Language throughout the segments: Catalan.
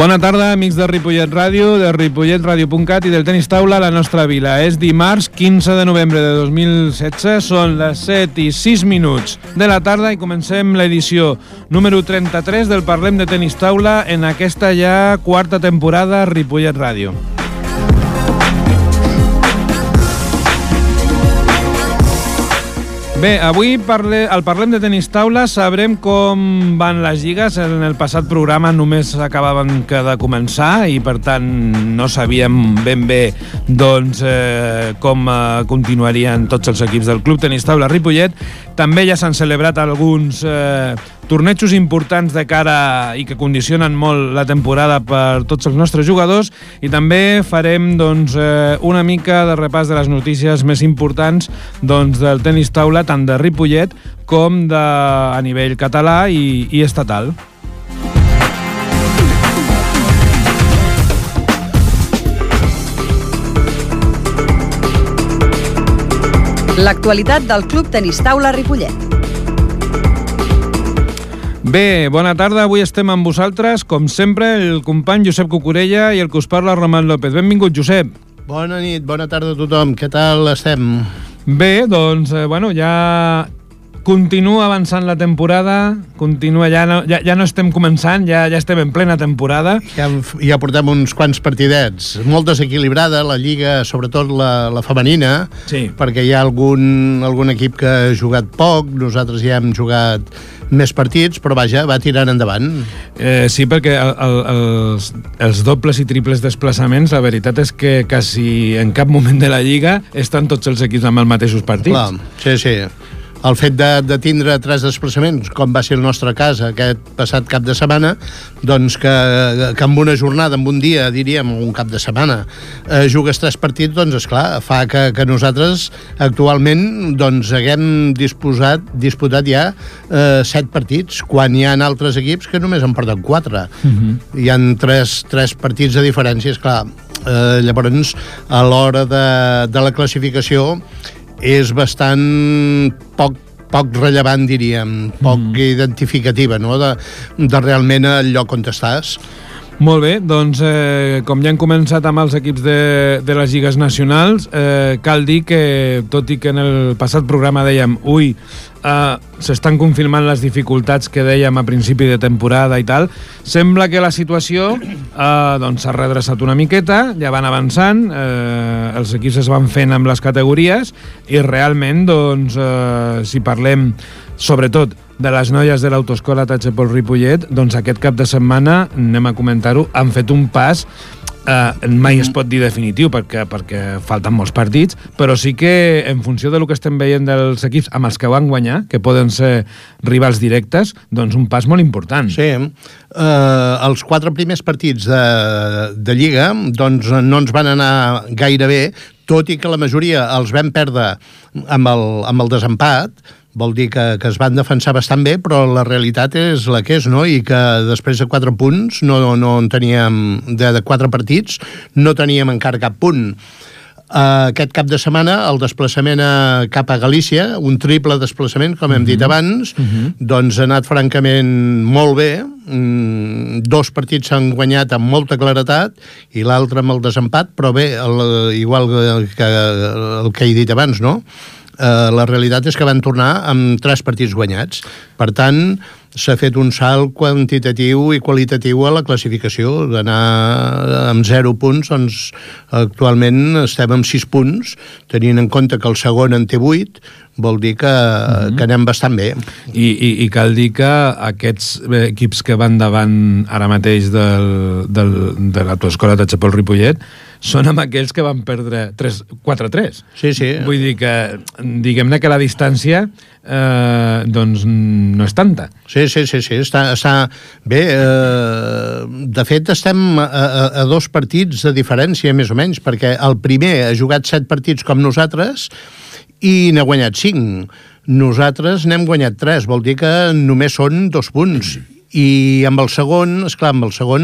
Bona tarda, amics de Ripollet Ràdio, de ripolletradio.cat i del Tenis Taula a la nostra vila. És dimarts 15 de novembre de 2016, són les 7:06 de la tarda i comencem l'edició número 33 del Parlem de Tenis Taula en aquesta ja quarta temporada Ripollet Ràdio. Bé, avui al Parlem de Tenis Taula sabrem com van les lligues. En el passat programa només acabaven de començar i, per tant, no sabíem ben bé com continuarien tots els equips del Club Tenis Taula Ripollet. També ja s'han celebrat alguns tornejos importants de cara i que condicionen molt la temporada per tots els nostres jugadors, i també farem una mica de repàs de les notícies més importants del tenis taula, tant de Ripollet com a nivell català i estatal. L'actualitat del Club Tenis Taula Ripollet. Bé, bona tarda. Avui estem amb vosaltres, com sempre, el company Josep Cucurella i el que us parla, Roman López. Benvingut, Josep. Bona nit, bona tarda a tothom. Què tal estem? Bé, ja continua avançant la temporada, ja no estem començant, ja estem en plena temporada. Ja portem uns quants partidets. Molt desequilibrada la lliga, sobretot la femenina, sí, perquè hi ha algun equip que ha jugat poc, nosaltres ja hem jugat més partits, però vaja, va tirant endavant. Sí, perquè els dobles i triples desplaçaments, la veritat és que quasi en cap moment de la lliga estan tots els equips amb els mateixos partits. Clar, sí. El fet de tindre 3 desplaçaments, com va ser el nostre cas aquest passat cap de setmana, doncs que en una jornada, en un dia, diríem, un cap de setmana, jugues 3 partits, doncs esclar, fa que nosaltres actualment haguem disputat ja 7 partits, quan hi ha altres equips que només en porten 4. Hi ha 3 partits de diferència, esclar. Llavors, a l'hora de la classificació, és bastant poc rellevant, diríem, poc identificativa, no?, de realment el lloc on estàs. Molt bé, doncs com ja hem començat amb els equips de les lligues nacionals, cal dir que, tot i que en el passat programa dèiem s'estan confirmant les dificultats que dèiem a principi de temporada i tal, sembla que la situació s'ha redreçat una miqueta, ja van avançant, els equips es van fent amb les categories i realment, si parlem sobretot de les noies de l'autoescola Tachepol Ripollet, doncs aquest cap de setmana, anem a comentar-ho, han fet un pas, mai es pot dir definitiu perquè falten molts partits, però sí que en funció del que estem veient dels equips amb els que van guanyar, que poden ser rivals directes, doncs un pas molt important. Sí, els 4 primers partits de Lliga doncs no ens van anar gaire bé, tot i que la majoria els vam perdre amb el desempat. Vol dir que es van defensar bastant bé, però la realitat és la que és, no? I que després de 4 punts, no en teníem, de 4 partits, no teníem encara cap punt. Aquest cap de setmana, el desplaçament cap a Galícia, un triple desplaçament, com hem dit abans, doncs ha anat francament molt bé. 2 partits s'han guanyat amb molta claretat i l'altre amb el desempat, però bé, igual que el que he dit abans, no? La realitat és que van tornar amb 3 partits guanyats. Per tant, s'ha fet un salt quantitatiu i qualitatiu a la classificació. D'anar amb 0 punts, doncs actualment estem amb 6 punts, tenint en compte que el segon en té 8, vol dir que anem bastant bé. I cal dir que aquests equips que van davant ara mateix de l'autoescola Tachepol Ripollet són amb aquells que van perdre 4-3. Sí. Vull dir que, diguem-ne que la distància doncs no és tanta. Sí. Està bé. De fet, estem a 2 partits de diferència, més o menys, perquè el primer ha jugat 7 partits com nosaltres i n'ha guanyat 5. Nosaltres n'hem guanyat 3, vol dir que només són 2 punts. I amb el segon, esclar,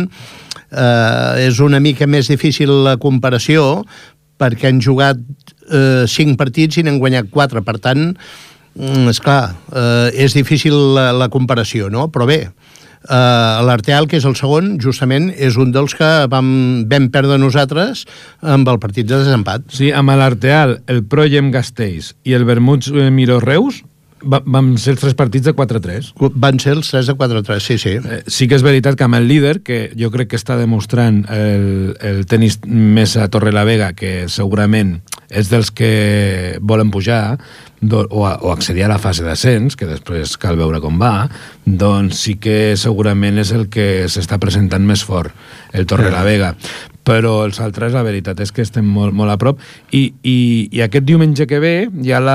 és una mica més difícil la comparació, perquè han jugat 5 partits i n'han guanyat 4. Per tant, esclar, és difícil la comparació, no? Però bé, L'Arteal, que és el segon, justament és un dels que vam perdre nosaltres amb el partit de desempat. Sí, amb l'Arteal, el Proyem Gasteiz i el Vermuts Miró Reus vam ser els 3 partits de 4-3. Van ser els 3 de 4-3, sí, sí. Sí que és veritat que amb el líder, que jo crec que està demostrant el tenis Mesa Torrelavega, que segurament és dels que volen pujar o accedir a la fase d'ascens, que després cal veure com va, doncs sí que segurament és el que s'està presentant més fort, el Torrelavega. Però els altres, la veritat és que estem molt, molt a prop. I aquest diumenge que ve hi ha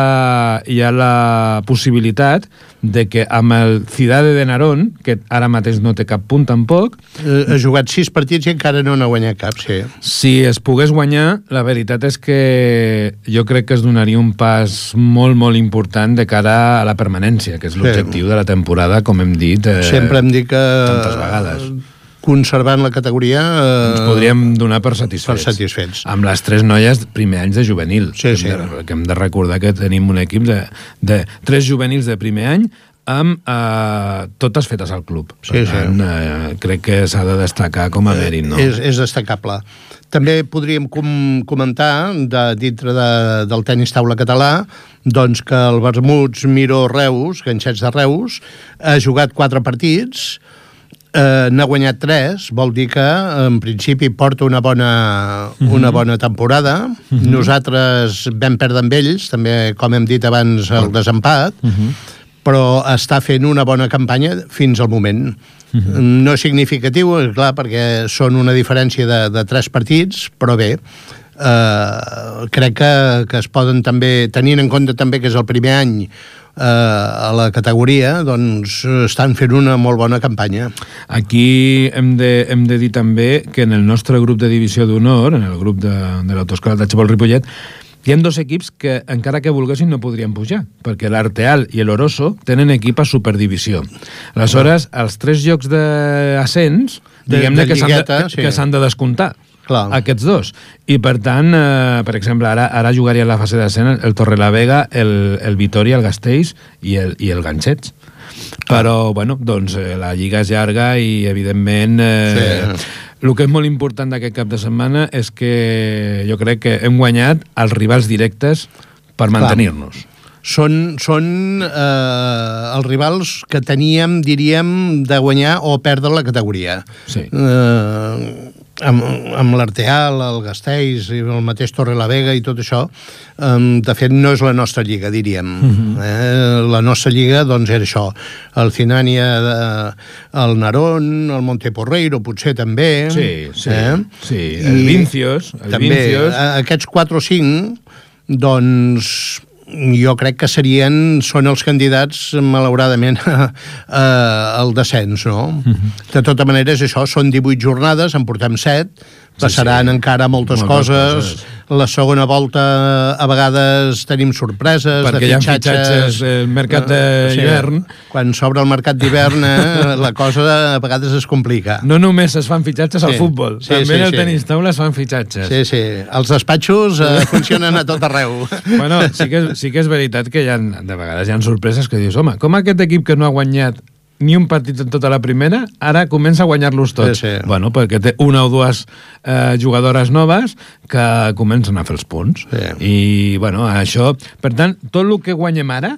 la possibilitat de que amb el Cidade de Narón, que ara mateix no té cap punt tampoc... Ha jugat 6 partits i encara no n'ha guanyat cap, sí. Si es pogués guanyar, la veritat és que jo crec que es donaria un pas molt, molt important de cara a la permanència, que és l'objectiu de la temporada, com hem dit sempre hem dit que tantes vegades. Conservant la categoria... ens podríem donar per satisfets. Amb les 3 noies primer anys de juvenil. Sí, sí. Que hem de recordar que tenim un equip de 3 juvenils de primer any amb totes fetes al club. Per tant, crec que s'ha de destacar com a mèrit, no? És destacable. També podríem comentar, dintre del tenis taula català, doncs que el Vermuts Miró Reus, Ganxets de Reus, ha jugat 4 partits, n'ha guanyat 3, vol dir que en principi porta una bona temporada. Nosaltres vam perdre amb ells, també, com hem dit abans, el desempat, però està fent una bona campanya fins al moment. No és significatiu, clar, perquè són una diferència de 3 partits, però bé, crec que es poden també, tenint en compte també que és el primer any a la categoria, doncs estan fent una molt bona campanya. Aquí hem de dir també que en el nostre grup de divisió d'honor, en el grup de l'Autoescola de Xabol Ripollet, hi ha 2 equips que, encara que volguessin, no podrien pujar, perquè l'Arteal i l'Oroso tenen equip a Superdivisió. Aleshores, els 3 llocs d'ascens, diguem-ne que s'han de descomptar. Clar. Aquests 2. I per tant, per exemple, ara jugaria la fase d'ascens el Torrelavega, el Vitoria, el Gasteiz i el Ganxets. Però, bueno, doncs la lliga és llarga i, evidentment, el que és molt important d'aquest cap de setmana és que jo crec que hem guanyat els rivals directes per mantenir-nos. Són els rivals que teníem, diríem, de guanyar o perdre la categoria. Sí. Amb l'Arteal, el Gasteiz i el mateix Torrelavega i tot això, de fet no és la nostra lliga, diríem. La nostra lliga, doncs, era això. El Cinània, el Narón, el Monteporreiro, potser també. Sí. El Vincios. També, aquests 4 o 5, doncs... jo crec que són els candidats, malauradament, al descens, no? De tota manera, és això, són 18 jornades, en portem 7, passaran encara moltes coses. La segona volta, a vegades, tenim sorpreses, perquè hi ha fitxatges el mercat d'hivern. Quan s'obre el mercat d'hivern, la cosa a vegades es complica. No només es fan fitxatges al futbol, també en el tenis taula es fan fitxatges. Sí. Els despatxos funcionen a tot arreu. Bueno, sí que és veritat que de vegades hi ha sorpreses que dius, home, com aquest equip que no ha guanyat ni un partit en tota la primera, ara comença a guanyar-los tots. Bueno, perquè té 1 o 2 jugadores noves que comencen a fer els punts. I, bueno, això... Per tant, tot el que guanyem ara,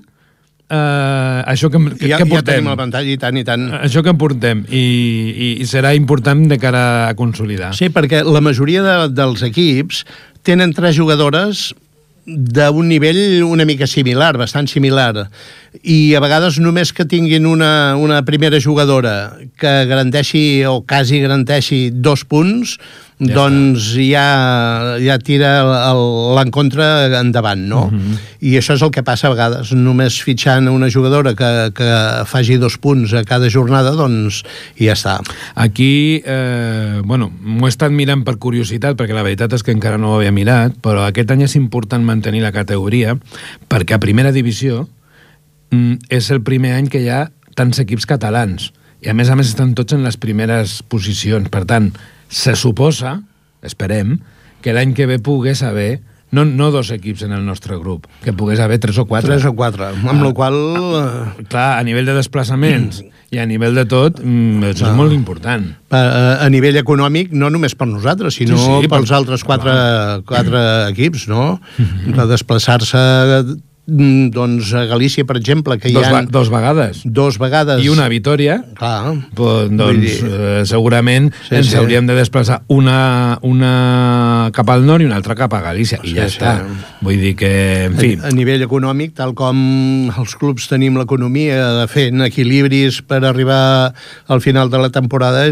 això que portem... Ja tenim l'avantatge, i tant. Això que portem, i serà important de cara a consolidar. Sí, perquè la majoria dels equips tenen 3 jugadores d'un nivell una mica similar, bastant similar, i a vegades només que tinguin una primera jugadora que garanteixi o quasi garanteixi 2 punts, doncs ja tira l'encontre endavant, no? I això és el que passa a vegades, només fitxant una jugadora que faci 2 punts a cada jornada, doncs ja està. Aquí, bueno, m'ho he estat mirant per curiositat, perquè la veritat és que encara no ho havia mirat, però aquest any és important mantenir la categoria, perquè a primera divisió és el primer any que hi ha tants equips catalans, i a més estan tots en les primeres posicions. Per tant, se suposa, esperem, que l'any que ve pogués haver no 2 equips en el nostre grup, que pogués haver 3 o 4. 3 o 4, amb la qual... Clar, a nivell de desplaçaments I a nivell de tot, és molt important. A nivell econòmic, no només per nosaltres, sinó pels altres quatre equips, no? De desplaçar-se doncs a Galícia, per exemple, que hi ha... Dos vegades. I una a Vitoria. Clar. Doncs segurament ens hauríem de desplaçar una cap al nord i una altra cap a Galícia. I ja està. Vull dir que, en fi... A nivell econòmic, tal com els clubs tenim l'economia de fent equilibris per arribar al final de la temporada,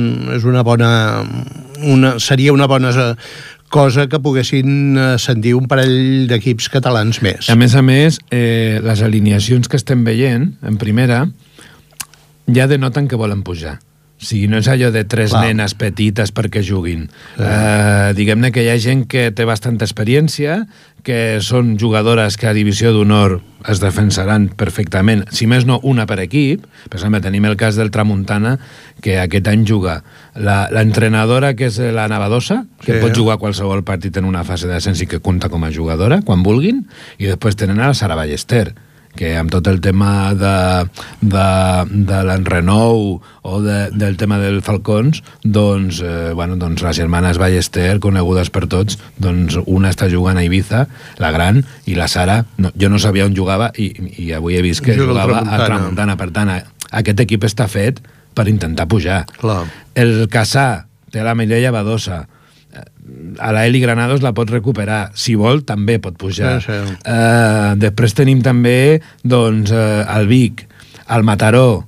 seria una bona cosa que poguessin ascendir un parell d'equips catalans més. A més, les alineacions que estem veient en primera ja denoten que volen pujar. O sigui, no és allò de tres nenes petites perquè juguin. Diguem-ne que hi ha gent que té bastanta experiència, que són jugadores que a Divisió d'Honor es defensaran perfectament, si més no una per equip. Per exemple, tenim el cas del Tramuntana, que aquest any juga l'entrenadora, que és la Navadosa, que pot jugar qualsevol partit en una fase d'ascens i que compta com a jugadora, quan vulguin, i després tenen a la Sara Ballester, que amb tot el tema de l'enrenou o del tema del Falcons, doncs les germanes Ballester, conegudes per tots, doncs una està jugant a Ibiza, la gran, i la Sara, jo no sabia on jugava, i avui he vist que jugava a Tramuntana. Per tant, aquest equip està fet per intentar pujar. Clar. El Cassà té la Mireia Badosa, a la Eli Granados la pot recuperar, si vol també pot pujar. Després tenim també el Vic, el Mataró,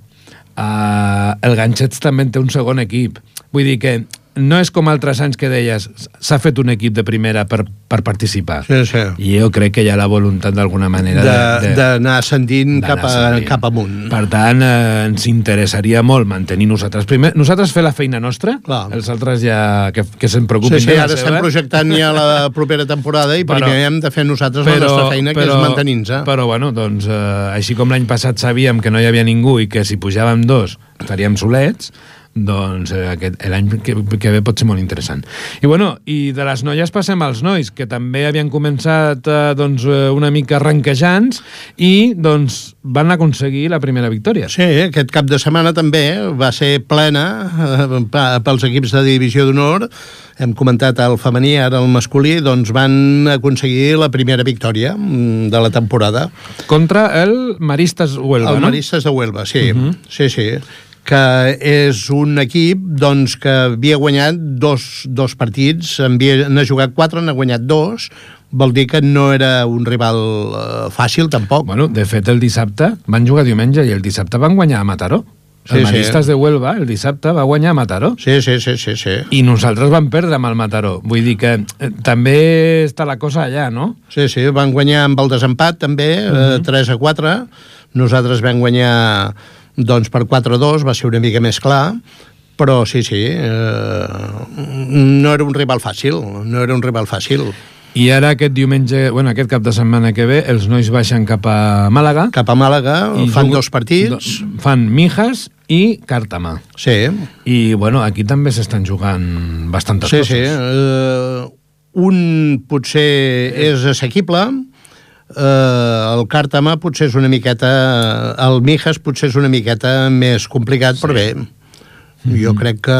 el Ganxets també té un segon equip. Vull dir que no és com altres anys que deies s'ha fet un equip de primera per participar. I jo crec que hi ha la voluntat d'alguna manera d'anar ascendint cap amunt. Per tant, ens interessaria molt mantenir nosaltres primer. Nosaltres fer la feina nostra, els altres ja que se'n preocupin de la seva. Ara estem projectant ja la propera temporada i primer hem de fer nosaltres la nostra feina, que és mantenir-nos. Però bueno, doncs, així com l'any passat sabíem que no hi havia ningú i que si pujàvem dos estaríem solets, doncs l'any que ve pot ser molt interessant. I de les noies passem als nois, que també havien començat una mica arranquejants i van aconseguir la primera victòria. Sí, aquest cap de setmana també va ser plena pels equips de Divisió d'Honor. Hem comentat el femení, ara el masculí, doncs van aconseguir la primera victòria de la temporada. Contra el Maristes Huelva, no? El Maristes de Huelva, sí. Sí, que és un equip que havia guanyat dos partits, n'ha jugat 4, n'ha guanyat 2, vol dir que no era un rival fàcil, tampoc. Bueno, de fet, el dissabte van jugar diumenge i el dissabte van guanyar a Mataró. El Maristes de Huelva, el dissabte, va guanyar a Mataró. Sí. I nosaltres vam perdre amb el Mataró. Vull dir que també està la cosa allà, no? Sí, van guanyar amb el desempat, també, 3-4. Nosaltres vam guanyar per 4-2, va ser una mica més clar, però sí, no era un rival fàcil, I ara aquest diumenge, aquest cap de setmana que ve, els nois baixen cap a Màlaga. Fan 2 partits. Fan Mijas i Càrtama. Sí. I, aquí també s'estan jugant bastantes coses. Sí. Un potser és assequible, el Càrtama potser és una miqueta, el Mijas potser és una miqueta més complicat, però bé, jo crec que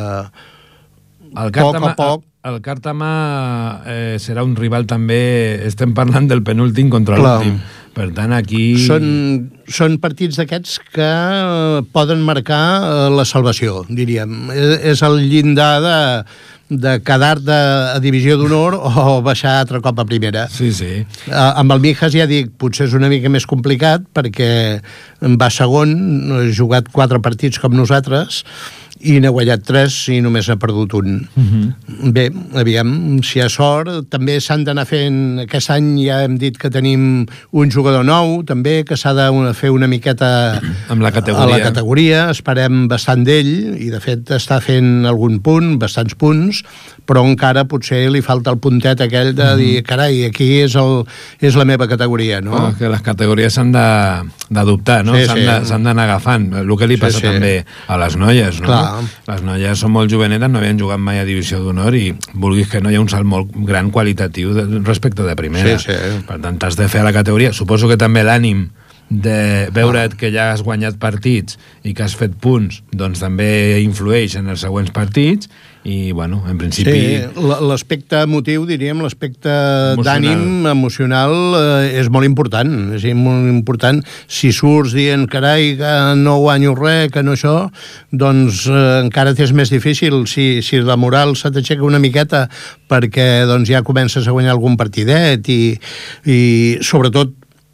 poc a poc el Càrtama serà un rival també, estem parlant del penúltim contra l'últim, per tant aquí són partits d'aquests que poden marcar la salvació, diríem. És el llindar de quedar-te a Divisió d'Honor o baixar altre cop a primera. Sí. Amb el Mijas, ja dic, potser és una mica més complicat perquè va segon, ha jugat 4 partits com nosaltres i n'ha guanyat 3 i només n'ha perdut un. Bé, aviam, si hi ha sort, també s'han d'anar fent, aquest any ja hem dit que tenim un jugador nou, també, que s'ha de fer una miqueta amb la categoria, esperem bastant d'ell, i de fet està fent algun punt, bastants punts, però encara potser li falta el puntet aquell de dir, carai, aquí és la meva categoria, no? Que les categories s'han d'adoptar, no? S'han d'anar agafant, el que li passa també a les noies, no? Les noies són molt jovenetes, no havien jugat mai a Divisió d'Honor i vulguis que no hi ha un salt molt gran qualitatiu respecte de primera. Per tant, t'has de fer a la categoria. Suposo que també l'ànim de veure't que ja has guanyat partits i que has fet punts, doncs també influeix en els següents partits i, bueno, en principi... Sí, l'aspecte emotiu, diríem, l'aspecte d'ànim emocional és molt important. És molt important. Si surts dient, carai, que no guanyo res, que no això, doncs encara t'és més difícil. Si la moral se t'aixeca una miqueta perquè doncs, ja comences a guanyar algun partidet i sobretot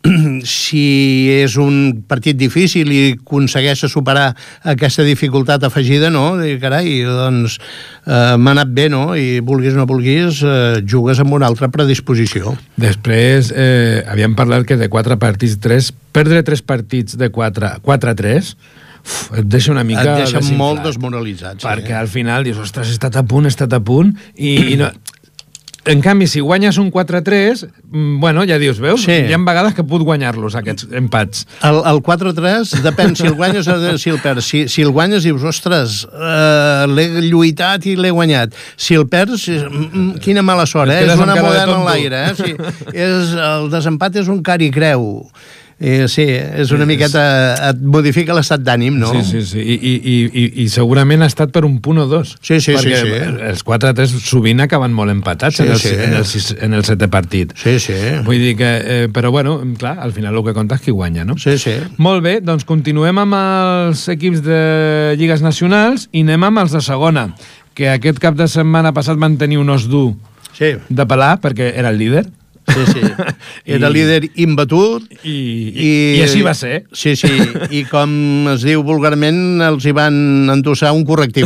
si és un partit difícil i aconsegueixes superar aquesta dificultat afegida, no? I, carai, doncs m'ha anat bé, no? I vulguis o no vulguis, jugues amb una altra predisposició. Després, havíem parlat que de 4 partits, 3, perdre 3 partits de 4-3, et deixa una mica et deixa desinflat, molt desmoralitzat. perquè al final dius, ostres, he estat a punt, i no... En canvi, si guanyes un 4-3, bueno, ja dius, veus? Sí. Hi ha vegades que puc guanyar-los, aquests empats. El 4-3 depèn si el guanyes o si el perds. Si el guanyes, dius, ostres, l'he lluitat i l'he guanyat. Si el perds, quina mala sort, és una moneda en l'aire. Sí. El desempat és un car i creu. Sí, és una miqueta... Et modifica l'estat d'ànim, no? Sí. I segurament ha estat per un punt o dos. Sí. Perquè els 4-3 sovint acaben molt empatats en el 7è partit. Sí. Vull dir que... Però, bueno, clar, al final el que compta és qui guanya, no? Sí. Molt bé, doncs continuem amb els equips de lligues nacionals i anem amb els de segona, que aquest cap de setmana passat van tenir un os dur de pelar, perquè era el líder. Sí. Era líder imbatut i així va ser. Sí. I com es diu vulgarment, els hi van endossar un correctiu.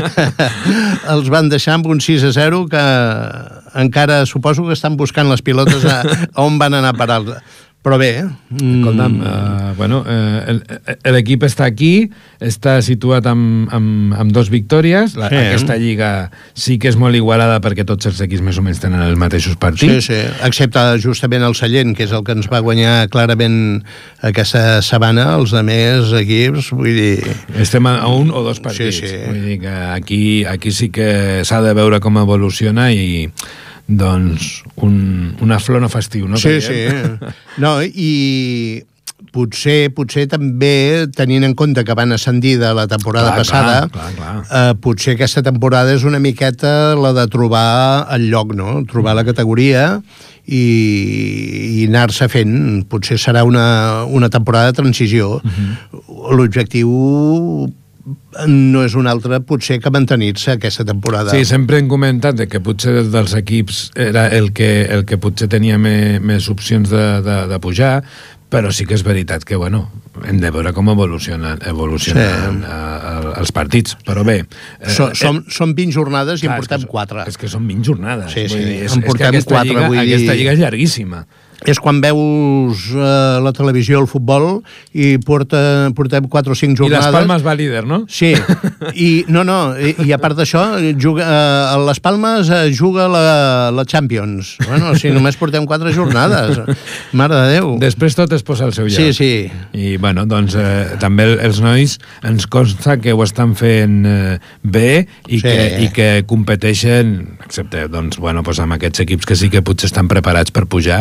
Els van deixar amb un 6-0 que encara suposo que estan buscant les pilotes a on van anar a parar. Però bé, escolta'm, l'equip està aquí, està situat amb 2 victòries. Aquesta lliga sí que és molt igualada perquè tots els equips més o menys tenen els mateixos partits. Sí, excepte justament el Sallent, que és el que ens va guanyar clarament aquesta setmana. Els altres equips, vull dir... Estem a 1 o 2 partits. Sí. Vull dir que aquí sí que s'ha de veure com evoluciona i... doncs una flor no festiu, no? Sí. No, i potser també, tenint en compte que van ascendir de la temporada passada, potser aquesta temporada és una miqueta la de trobar el lloc, no? Trobar la categoria i anar-se fent. Potser serà una temporada de transició. L'objectiu no és un altre, potser, que mantenir-se aquesta temporada. Sí, sempre hem comentat que potser dels equips era el que potser tenia més opcions de pujar, però sí que és veritat que, bueno, hem de veure com evolucionen els partits, però bé... Són 20 jornades i en portem 4. És que són 20 jornades. Sí, en portem 4. Aquesta lliga és llarguíssima. És quan veus la televisió, el futbol, i portem 4 o 5 jornades... I les Palmes va líder, no? Sí. I a part d'això, les Palmes juga la Champions. Bueno, si només portem 4 jornades. Mare de Déu. Després tot es posa al seu lloc. Sí. I, bueno, doncs, també els nois ens consta que ho estan fent bé i que competeixen, excepte, doncs, bueno, doncs amb aquests equips que sí que potser estan preparats per pujar,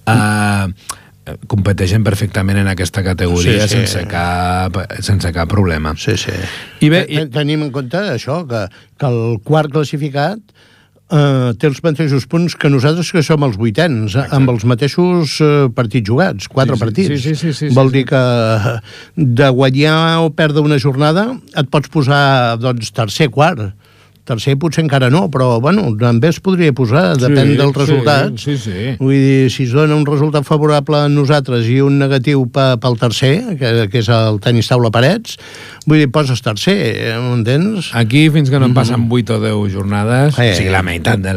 competeixen perfectament en aquesta categoria sense cap problema. Sí. I bé, tenim en compte això, que el quart classificat té els mateixos punts que nosaltres, que som els 8ens, amb els mateixos partits jugats, 4 partits. Sí. Vol dir que de guanyar o perdre una jornada et pots posar, doncs, tercer, quart. Tercer potser encara no, però, bueno, també es podria posar, depèn dels resultats. Sí. Vull dir, si es dona un resultat favorable a nosaltres i un negatiu pel tercer, que és el tenis taula parets, vull dir, poses tercer, m'entens? Aquí, fins que no en passen 8 o 10 jornades, o sigui, la meitat de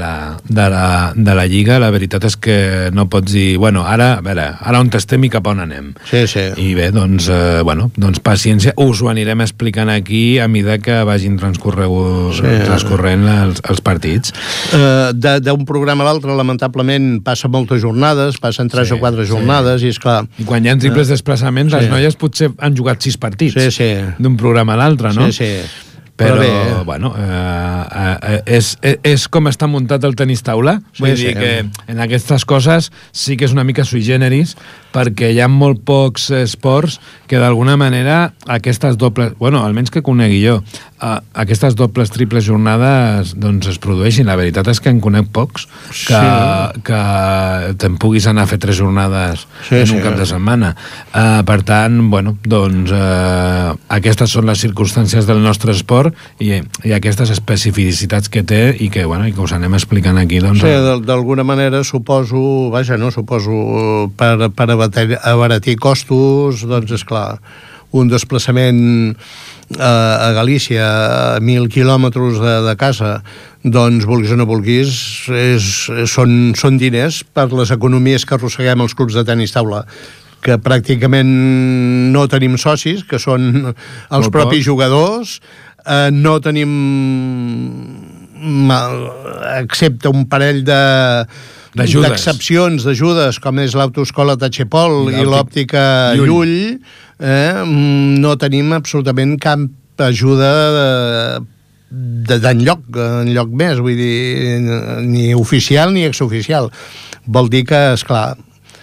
la lliga, la veritat és que no pots dir, bueno, ara on estem i cap on anem. Sí. I bé, doncs paciència, us ho anirem explicant aquí a mesura que vagin transcorrent els partits. D'un programa a l'altre, lamentablement, passa moltes jornades, passen 3 o 4 jornades, i esclar... I quan hi ha triples desplaçaments, les noies potser han jugat 6 partits d'un programa a l'altre, no? Sí. Però bueno, és com està muntat el tenis taula. Vull dir que en aquestes coses sí que és una mica sui generis, perquè hi ha molt pocs esports que d'alguna manera aquestes dobles, bueno, almenys que conegui jo, aquestes dobles, triples jornades doncs es produeixin. La veritat és que en conec pocs que te'n puguis anar a fer 3 jornades en un cap de setmana. Per tant, bueno, doncs aquestes són les circumstàncies del nostre esport i aquestes especificitats que té i que, bueno, i que us anem explicant aquí. Doncs, sí, d'alguna manera suposo per abaratir costos, doncs és clar, un desplaçament a Galícia a 1.000 quilòmetres de casa, doncs vulguis o no vulguis són diners per les economies que arrosseguem els clubs de tenis taula, que pràcticament no tenim socis, que són els propis jugadors, no tenim excepte un parell d'excepcions, d'ajudes, com és l'autoescola Tachepol i l'òptica Llull, no tenim absolutament cap ajuda d'enlloc més, vull dir, ni oficial ni exoficial. Vol dir que, esclar,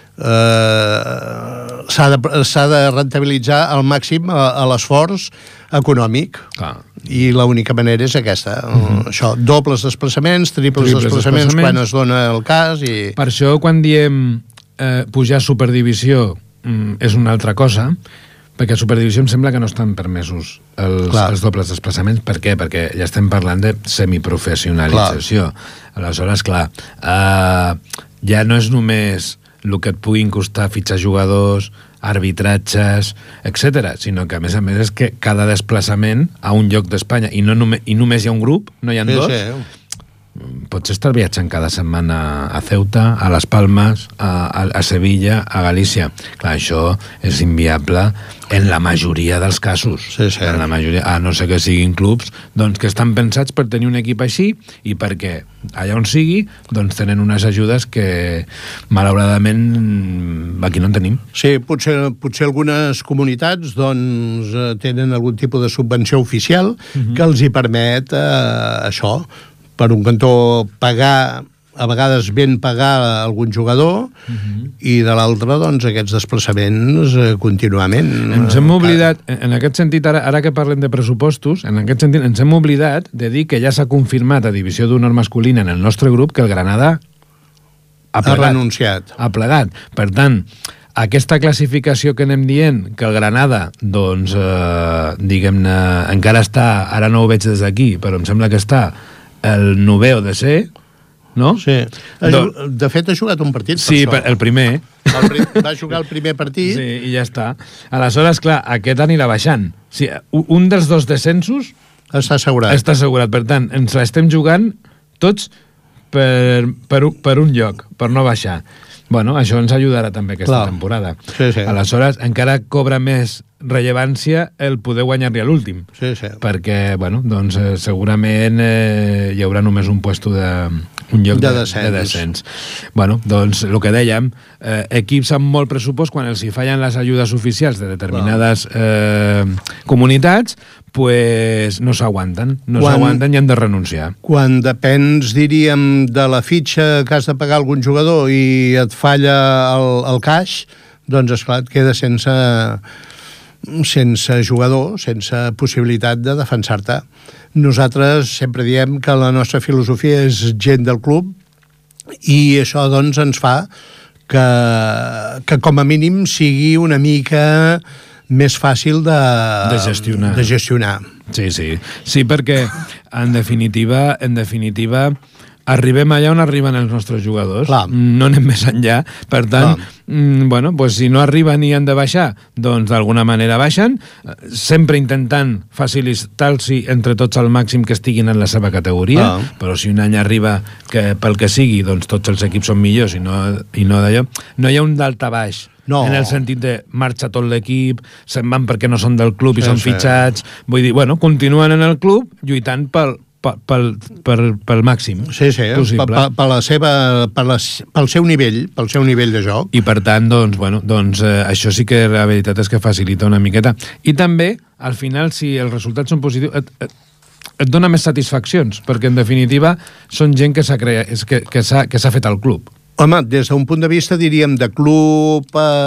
s'ha de rentabilitzar al màxim l'esforç econòmic. I l'única manera és aquesta. Això, dobles desplaçaments, triples desplaçaments quan es dona el cas. Per això, quan diem pujar a Superdivisió és una altra cosa, perquè a Superdivisió em sembla que no estan permesos els dobles desplaçaments. Per què? Perquè ja estem parlant de semiprofessionalització. Aleshores, clar, ja no és només el que et puguin costar fitxar jugadors, arbitratges, etc., sinó que a més és que cada desplaçament a un lloc d'Espanya, i només hi ha un grup, no hi ha dos, pots estar viatjant cada setmana a Ceuta, a Les Palmes, a Sevilla, a Galícia. Clar, això és inviable en la majoria dels casos. En la majoria, a no ser que siguin clubs doncs, que estan pensats per tenir un equip així i perquè allà on sigui doncs tenen unes ajudes que malauradament aquí no en tenim. Sí, potser algunes comunitats doncs, tenen algun tipus de subvenció oficial que els hi permet això, per un cantó pagar, a vegades ben pagar algun jugador, i de l'altre, doncs, aquests desplaçaments contínuament. Ens hem oblidat, en aquest sentit, ara que parlem de pressupostos, en aquest sentit ens hem oblidat de dir que ja s'ha confirmat a Divisió d'Honor Masculina en el nostre grup que el Granada ha renunciat. Ha plegat. Per tant, aquesta classificació que anem dient, que el Granada, doncs, diguem-ne, encara està, ara no ho veig des d'aquí, però em sembla que està el 9è o 10è, no? Sí. De fet, ha jugat un partit. Sí, el primer. Va jugar el primer partit. Sí, i ja està. Aleshores, clar, aquest anirà baixant. Sí, un dels dos descensos està assegurat. Està assegurat. Per tant, ens l'estem jugant tots per un lloc, per no baixar. Bueno, això ens ajudarà també aquesta temporada. Sí. Aleshores, encara cobra més rellevància el poder guanyar-li a l'últim. Sí. Perquè, bueno, doncs segurament hi haurà només un lloc de descens. Bueno, doncs el que dèiem, equips amb molt pressupost, quan els hi fallen les ajudes oficials de determinades comunitats, pues no s'aguanten i han de renunciar. Quan depens, diríem, de la fitxa que has de pagar algun jugador i et falla el caix, doncs esclar, et queda sense jugador, sense possibilitat de defensar-te. Nosaltres sempre diem que la nostra filosofia és gent del club i això doncs ens fa que com a mínim sigui una mica més fàcil de gestionar. Sí, perquè en definitiva arribem allà on arriben els nostres jugadors. No anem més enllà. Per tant, bueno, pues si no arriben i han de baixar, doncs d'alguna manera baixen, sempre intentant facilitar-los entre tots al màxim que estiguin en la seva categoria, però si un any arriba que pel que sigui, doncs tots els equips són millors i no d'allò, no hi ha un daltabaix. No. En el sentit de marxa tot l'equip, se'n van perquè no són del club i són fitxats. Vull dir, bueno, continuen en el club lluitant pel màxim possible. Pel seu nivell de joc. I per tant, doncs, això sí que la veritat és que facilita una miqueta. I també, al final, si els resultats són positius, et dona més satisfaccions, perquè en definitiva són gent que s'ha fet al club. Home, des d'un punt de vista, diríem, de club,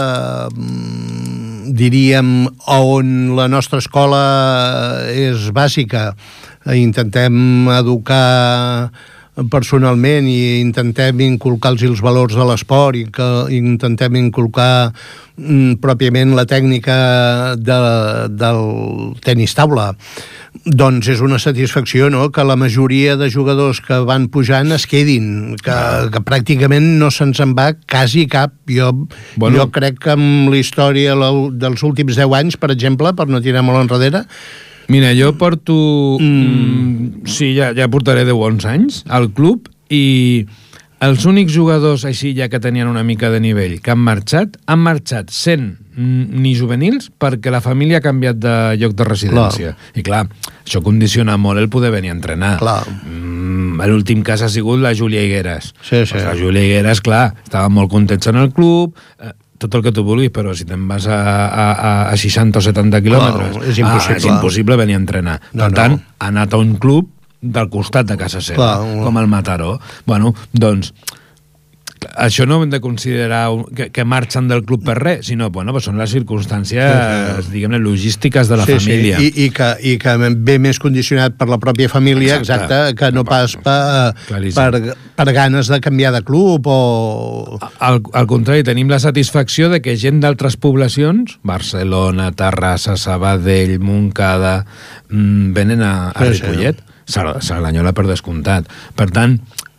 diríem, on la nostra escola és bàsica, intentem educar personalment i intentem inculcar-los els valors de l'esport i que intentem inculcar pròpiament la tècnica del tenis taula. Doncs és una satisfacció, no?, que la majoria de jugadors que van pujant es quedin, que pràcticament no se'ns en va quasi cap. Jo crec que amb la història dels últims 10 anys, per exemple, per no tirar molt enrere... Mira, jo porto... Sí, ja portaré 10 bons anys al club i els únics jugadors així ja que tenien una mica de nivell que han marxat sent ni juvenils perquè la família ha canviat de lloc de residència. Clar. I clar, això condiciona molt el poder venir a entrenar. L'últim cas ha sigut la Júlia Higueras. Sí. La Júlia Higueras, clar, estava molt contents en el club, tot el que tu vulguis, però si te'n vas a 60 o 70 quilòmetres... És impossible. És impossible venir a entrenar. Per tant, ha anat a un club del costat de casa seva, com el Mataró. Bueno, doncs, això no hem de considerar que marxen del club per res, sinó, bueno, són les circumstàncies, diguem-ne, logístiques de la família. I que ve més condicionat per la pròpia família, exacte, que no pas per ganes de canviar de club o... Al contrari, tenim la satisfacció de que gent d'altres poblacions, Barcelona, Terrassa, Sabadell, Montcada, venen a Ripollet. Cerdanyola per descomptat. Per tant,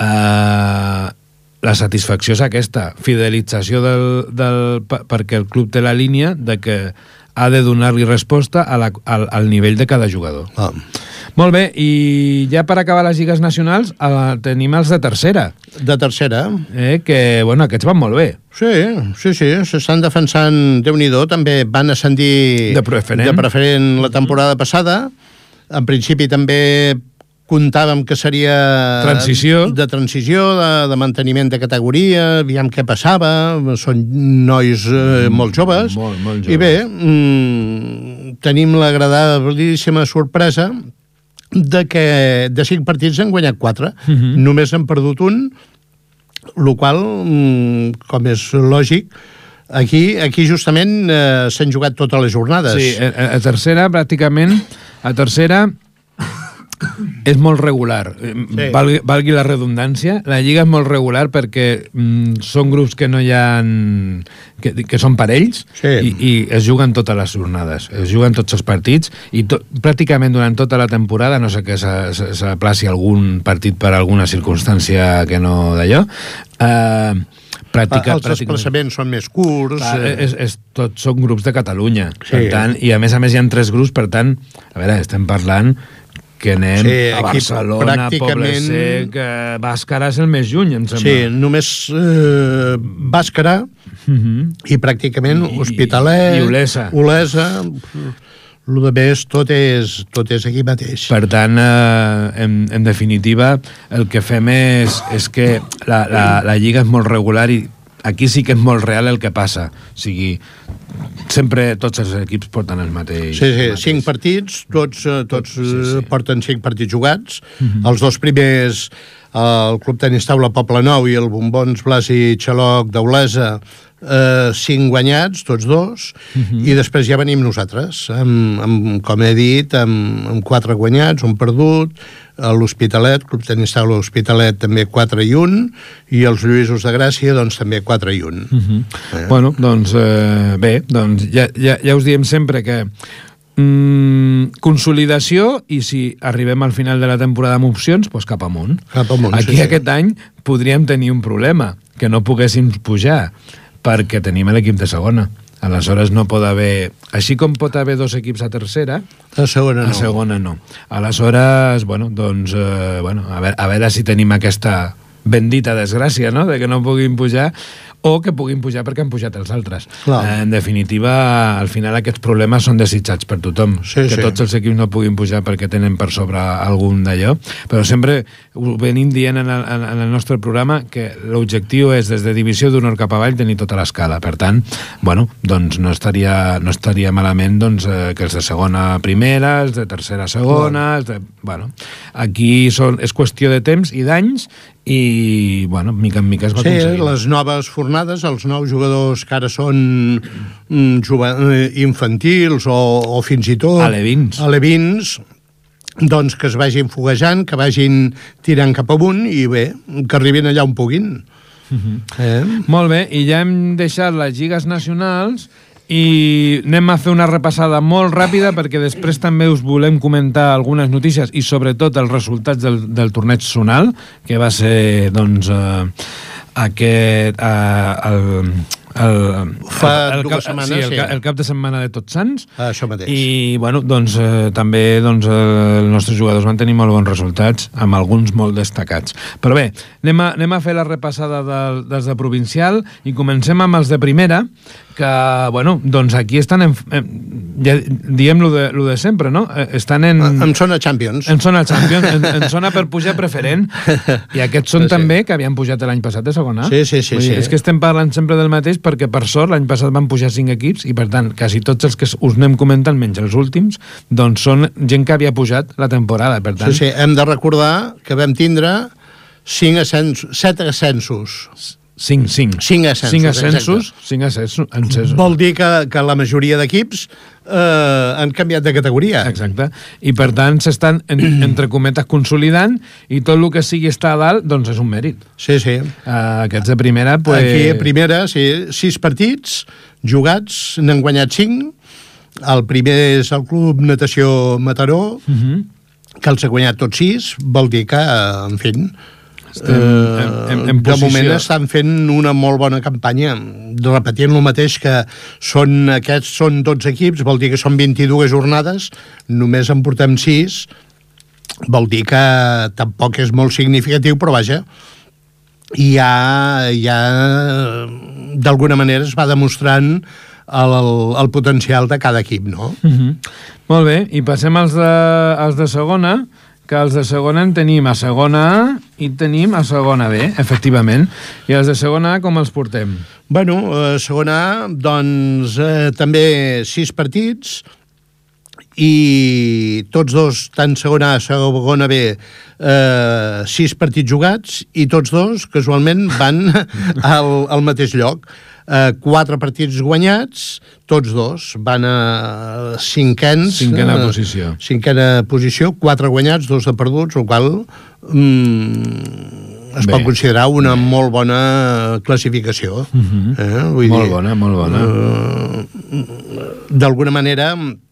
la satisfacció és aquesta, fidelització perquè el club té la línia de que ha de donar-li resposta al nivell de cada jugador. Molt bé, i ja per acabar les lligues nacionals tenim els de tercera. De tercera. Que, bueno, aquests van molt bé. Sí, s'estan defensant, Déu-n'hi-do, també van ascendir de preferent la temporada passada. En principi també comptàvem que seria de transició, de manteniment de categoria, aviam què passava, són nois molt joves, molt joves. I bé, tenim l'agradabilíssima sorpresa de que de 5 partits han guanyat 4, només han perdut un, el qual, com és lògic, aquí justament s'han jugat totes les jornades. Sí, a tercera pràcticament, és molt regular, valgui la redundància. La lliga és molt regular perquè són grups que no hi ha que són parells i es juguen totes les jornades, es juguen tots els partits i pràcticament durant tota la temporada, no sé que s'aplaci algun partit per alguna circumstància que no d'allò, els desplaçaments són més curts. Tots són grups de Catalunya, per tant, i a més hi ha 3 grups, per tant, a veure, estem parlant que anem a Barcelona, Poble Sec, Bàscara és el més lluny, em sembla. Sí, només Bàscara i pràcticament Hospitalet, Olesa. El de més, tot és aquí mateix. Per tant, en definitiva, el que fem és que la lliga és molt regular i aquí sí que és molt real el que passa. O sigui, sempre tots els equips porten el mateix. Sí, 5 partits, tots porten 5 partits jugats. Els 2 primers, el Club Tenis Taula Poble Nou i el Bombons Blas i Xaloc d'Olesa, 5 guanyats, tots 2, i després ja venim nosaltres, com he dit, amb 4 guanyats, un perdut, l'Hospitalet, Club Tenis Taula Hospitalet també 4 i 1, i els Lluïsos de Gràcia doncs també 4 i 1. Bueno, doncs bé, doncs ja us diem sempre que consolidació, i si arribem al final de la temporada amb opcions, doncs cap amunt. Aquí aquest any podríem tenir un problema, que no poguéssim pujar, perquè tenim l'equip de segona. Aleshores no pot haver... Així com pot haver 2 equips a tercera, a segona no. Aleshores, bueno, doncs, a veure si tenim aquesta bendita desgràcia, no?, de que no puguin pujar, o que puguin pujar perquè han pujat els altres. Clar. En definitiva, al final aquests problemes són desitjats per tothom. Sí, que tots els equips no puguin pujar perquè tenen per sobre algun d'allò, però sempre ho venim dient en el nostre programa que l'objectiu és des de divisió d'honor cap avall tenir tota l'escala. Per tant, bueno, doncs no estaria malament doncs, que els de segona a primera, els de tercera a segona, bueno, aquí és qüestió de temps i d'anys i, bueno, mica en mica es va aconseguir. Sí, les noves fornades, els nous jugadors que ara són infantils o fins i tot alevins, doncs que es vagin foguejant, que vagin tirant cap amunt i bé, que arribin allà on puguin. Molt bé, i ja hem deixat les lligues nacionals i anem a fer una repassada molt ràpida perquè després també us volem comentar algunes notícies i sobretot els resultats del torneig zonal, que va ser doncs el cap de setmana de Tots Sants. Això mateix. I bueno, doncs també els nostres jugadors van tenir molt bons resultats, amb alguns molt destacats. Però bé, anem a fer la repassada dels de provincial i comencem amb els de primera, que, bueno, doncs aquí estan ja diem lo de sempre, no? Estan en zona Champions. En zona Champions, en zona per pujar preferent, i aquests són també que havien pujat l'any passat de segona. Sí. És que estem parlant sempre del mateix perquè, per sort, l'any passat van pujar 5 equips i, per tant, quasi tots els que us anem comentant, menys els últims, doncs són gent que havia pujat la temporada, per tant... Sí, hem de recordar que vam tindre 7 ascensos. 5 ascensos. Vol dir que la majoria d'equips han canviat de categoria. Exacte. I per tant s'estan, entre cometes, consolidant i tot el que sigui estar a dalt, doncs és un mèrit. Sí. Aquests de primera... Aquí a primera, sí, 6 partits jugats, n'han guanyat 5. El primer és el Club Natació Mataró, que els ha guanyat tots 6. Vol dir que, en fi... de moment estan fent una molt bona campanya, repetint el mateix, que aquests són 12 equips, vol dir que són 22 jornades, només en portem 6, vol dir que tampoc és molt significatiu, però vaja, ja d'alguna manera es va demostrant el potencial de cada equip, no? Molt bé, i passem als de segona, que els de segona en tenim a segona A i tenim a segona B, efectivament. I els de segona A com els portem? Bueno, a segona A, doncs, també 6 partits i tots dos, tant segona A, segona B, 6 partits jugats i tots dos, casualment, van al mateix lloc. 4 partits guanyats, tots dos van a cinquena posició. Cinquena posició, 4 guanyats, 2 de perduts, el qual es pot considerar una molt bona classificació. Molt bona. D'alguna manera,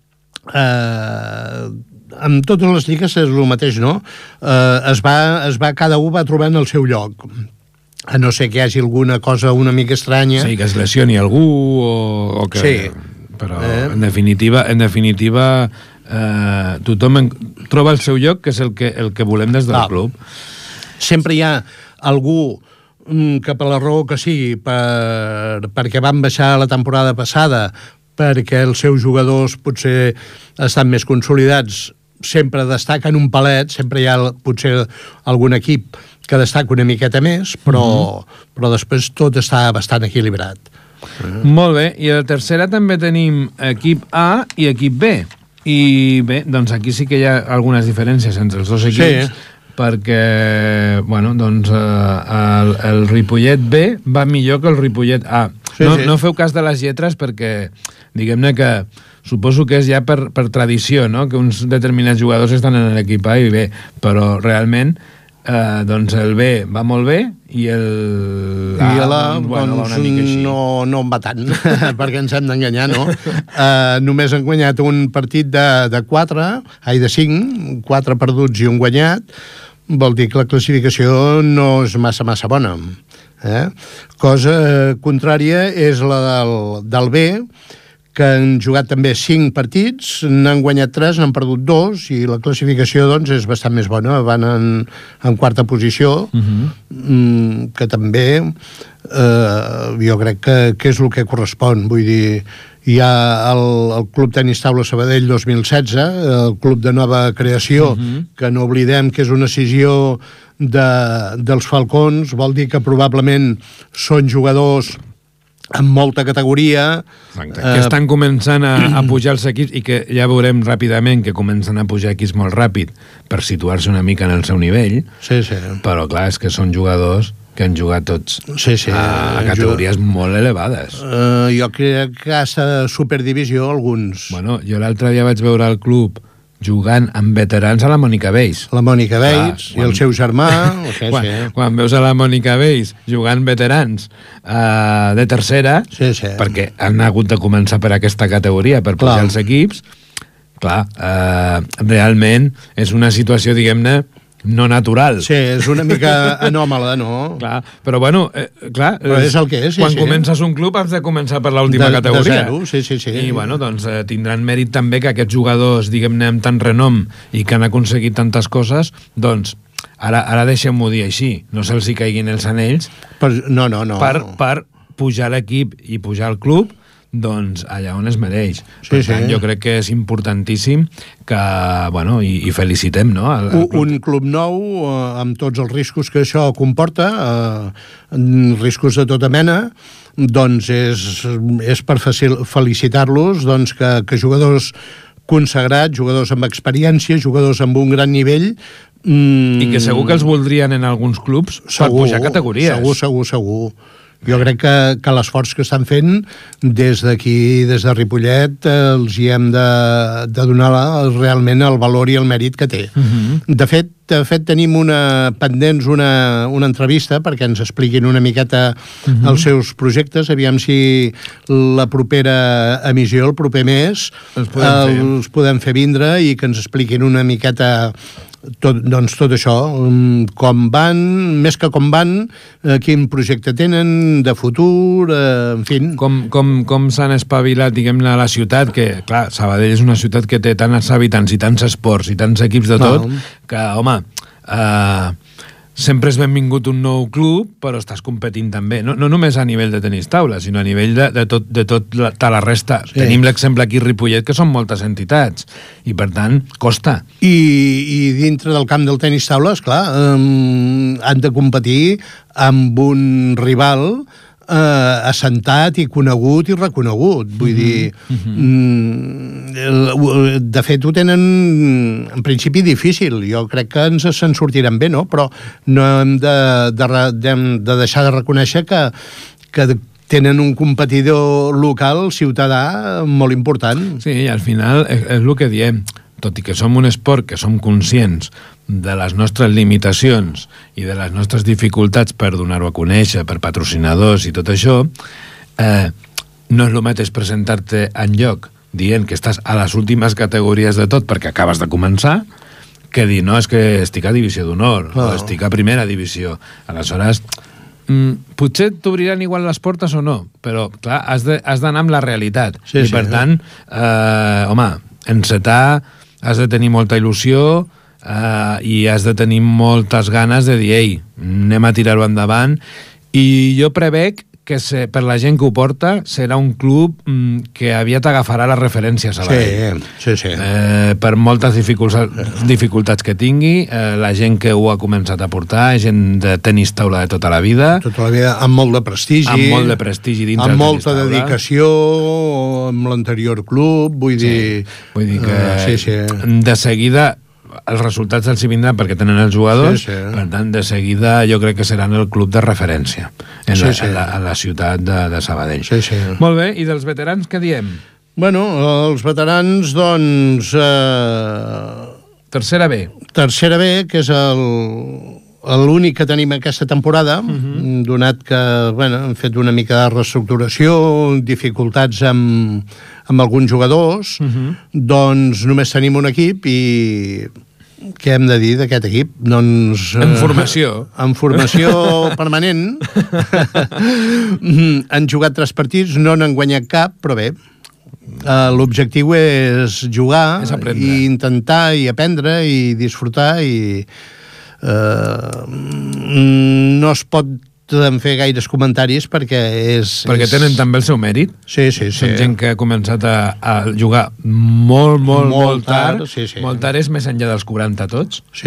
amb totes les lligues és el mateix, no? Cada un va trobant el seu lloc. A no ser que hi hagi alguna cosa una mica estranya. Sí, que es lesioni algú o que... Sí. Però, en definitiva tothom troba el seu lloc, que és el que volem des del club. Sempre hi ha algú que per la raó que sigui, perquè van baixar la temporada passada, perquè els seus jugadors potser estan més consolidats, sempre destaquen un palet, sempre hi ha potser algun equip que destaca una miqueta més, però després tot està bastant equilibrat. Molt bé, i a la tercera també tenim equip A i equip B. I bé, doncs aquí sí que hi ha algunes diferències entre els dos equips, perquè, bueno, doncs el Ripollet B va millor que el Ripollet A. No feu cas de les lletres perquè, diguem-ne que suposo que és ja per tradició, no?, que uns determinats jugadors estan en l'equip A i B, però realment doncs el B va molt bé i el A va una mica així. No en va tant, perquè ens hem d'enganyar, no? Només han guanyat un partit de 5, 4 perduts i un guanyat, vol dir que la classificació no és massa bona. Cosa contrària és la del B, que han jugat també 5 partits, n'han guanyat 3, n'han perdut 2, i la classificació doncs és bastant més bona, van en quarta posició, que també jo crec que és el que correspon. Vull dir, hi ha el Club Tenis Taula Sabadell 2016, el club de nova creació, que no oblidem que és una escissió dels Falcons, vol dir que probablement són jugadors amb molta categoria. Exacte, que estan començant a pujar els equips i que ja veurem ràpidament que comencen a pujar equips molt ràpid per situar-se una mica en el seu nivell. Sí. Però clar, és que són jugadors que han jugat tots a categories molt elevades. Jo crec que a Superdivisió alguns. Bueno, jo l'altre dia vaig veure el club jugant amb veterans a la Mònica Bells. La Mònica Bells i el seu germà. Quan veus a la Mònica Bells jugant veterans de tercera, perquè han hagut de començar per aquesta categoria, per pujar els equips, clar, realment és una situació, diguem-ne, no natural. Sí, és una mica anòmala, no? Clar, però bueno, clar, però és el que és, quan comences un club has de començar per l'última categoria. De zero, sí. I bueno, doncs tindran mèrit també que aquests jugadors, diguem-ne, amb tant renom i que han aconseguit tantes coses, doncs ara deixem-ho dir així, no se'ls hi caiguin els anells. No. Per pujar l'equip i pujar el club, doncs allà on es mereix. Per tant, jo crec que és importantíssim que, bueno, i felicitem, no? Un club nou, amb tots els riscos que això comporta, riscos de tota mena, doncs és per felicitar-los, doncs que jugadors consagrats, jugadors amb experiència, jugadors amb un gran nivell, i que segur que els voldrien en alguns clubs per pujar categories. Segur. Jo crec que l'esforç que estan fent des d'aquí, des de Ripollet, els hi hem de donar realment el valor i el mèrit que té. De fet, tenim pendents una entrevista perquè ens expliquin una miqueta els seus projectes, aviam si la propera emissió, el proper mes, els podem fer vindre i que ens expliquin una miqueta tot això, com van, més que com van, quin projecte tenen de futur, en fi. Com s'han espavilat, diguem-ne, a la ciutat, que, clar, Sabadell és una ciutat que té tants habitants i tants esports i tants equips de tot, que, home, sempre és benvingut un nou club, però estàs competint també, no només a nivell de tenis taula, sinó a nivell de tota la resta. Tenim l'exemple aquí a Ripollet, que són moltes entitats, i per tant, costa. I dintre del camp del tenis taula, esclar, han de competir amb un rival assentat i conegut i reconegut. Vull dir, de fet ho tenen en principi difícil. Jo crec que se'n sortiran bé, no? Però no hem de deixar de reconèixer que tenen un competidor local, ciutadà, molt important. Sí, i al final és el que diem. Tot i que som un esport que som conscients de les nostres limitacions i de les nostres dificultats per donar-ho a conèixer, per patrocinadors i tot això, no és el mateix presentar-te enlloc dient que estàs a les últimes categories de tot perquè acabes de començar, que dir, no, és que estic a divisió d'honor, o estic a primera divisió. Aleshores, potser t'obriran igual les portes o no, però, clar, has d'anar amb la realitat. I, per tant, home, encetar, has de tenir molta il·lusió i has de tenir moltes ganes de dir, ei, anem a tirar-ho endavant. I jo prevec que per la gent que ho porta serà un club que aviat agafarà les referències a Sabadell. Sí. Per moltes dificultats que tingui, la gent que ho ha començat a portar, gent de tenis taula de tota la vida. Tota la vida, amb molt de prestigi. Amb molt de prestigi dintre amb molta dedicació, amb l'anterior club, vull dir... Vull dir que de seguida els resultats els hi vindran perquè tenen els jugadors, per tant, de seguida jo crec que seran el club de referència a la ciutat de Sabadell. Molt bé, i dels veterans què diem? Bueno, els veterans, doncs... Tercera B. Tercera B, que és l'únic que tenim aquesta temporada, donat que hem fet una mica de reestructuració, dificultats amb alguns jugadors, doncs només tenim un equip i què hem de dir d'aquest equip? Doncs... En formació. En formació permanent. Han jugat 3 partits, no n'han guanyat cap, però bé, l'objectiu és jugar, i intentar i aprendre i disfrutar i no es pot fer gaires comentaris perquè tenen també el seu mèrit. Sí. Són gent que ha començat a jugar molt tard. Molt tard és més enllà dels 40 tots. Sí.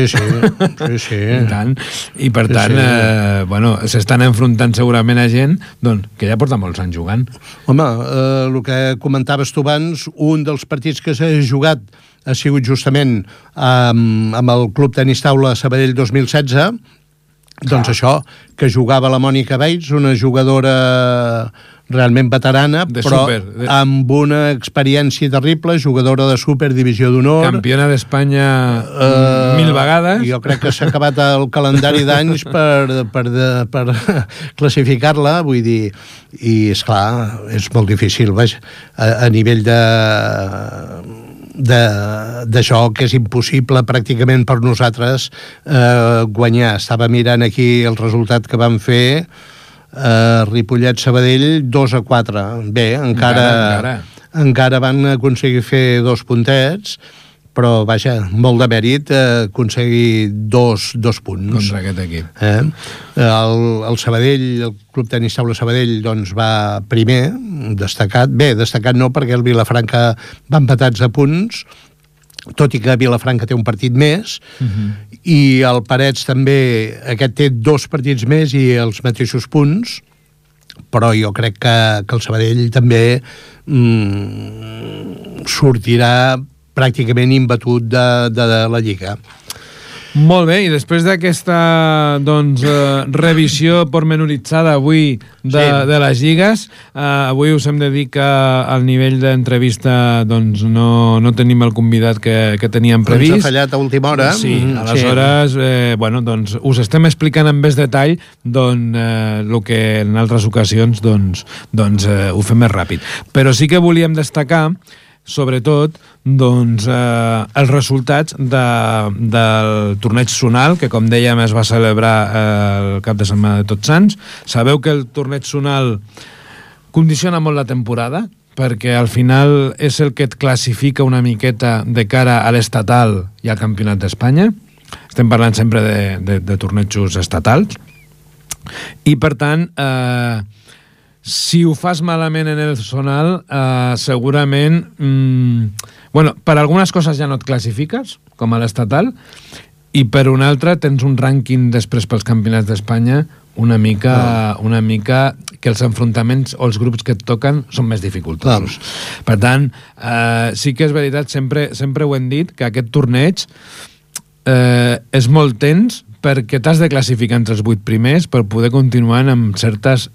I per tant, s'estan enfrontant segurament a gent que ja porta molts anys jugant. Home, el que comentaves tu abans, un dels partits que s'ha jugat ha sigut justament amb el Club Tenis Taula Sabadell 2016. Doncs això, que jugava la Mònica Bates, una jugadora realment veterana, però amb una experiència terrible, jugadora de súper, divisió d'honor. Campiona d'Espanya 1000 vegades. Jo crec que s'ha acabat el calendari d'anys per classificar-la, vull dir, i esclar, és molt difícil, a nivell d'això, que és impossible pràcticament per nosaltres guanyar. Estava mirant aquí el resultat que van fer Ripollet-Sabadell 2-4. Bé, encara van aconseguir fer 2 puntets, però vaja, molt de mèrit aconseguir dos punts contra aquest equip. El Sabadell, el Club Tenis Taula Sabadell, doncs va primer, destacat no, perquè el Vilafranca va empatats a punts, tot i que Vilafranca té un partit més, i el Parets també, aquest té 2 partits més i els mateixos punts, però jo crec que el Sabadell també sortirà pràcticament imbatut de la Lliga. Molt bé, i després d'aquesta revisió pormenoritzada avui de les lligues, avui us hem de dir que al nivell d'entrevista no tenim el convidat que teníem previst. Ens ha fallat a última hora. Sí, aleshores us estem explicant amb més detall el que en altres ocasions ho fem més ràpid. Però sí que volíem destacar sobretot els resultats del torneig zonal, que com dèiem es va celebrar el cap de setmana de Tots Sants. Sabeu que el torneig zonal condiciona molt la temporada, perquè al final és el que et classifica una miqueta de cara a l'estatal i al Campionat d'Espanya. Estem parlant sempre de tornejos estatals. I per tant, si ho fas malament en el zonal, segurament per algunes coses ja no et classifiques, com a l'estatal, i per una altra tens un rànquing després pels campionats d'Espanya una mica que els enfrontaments o els grups que et toquen són més dificultosos. Per tant, sí que és veritat, sempre ho hem dit, que aquest torneig és molt tens, perquè t'has de classificar entre els 8 primers per poder continuar amb certes,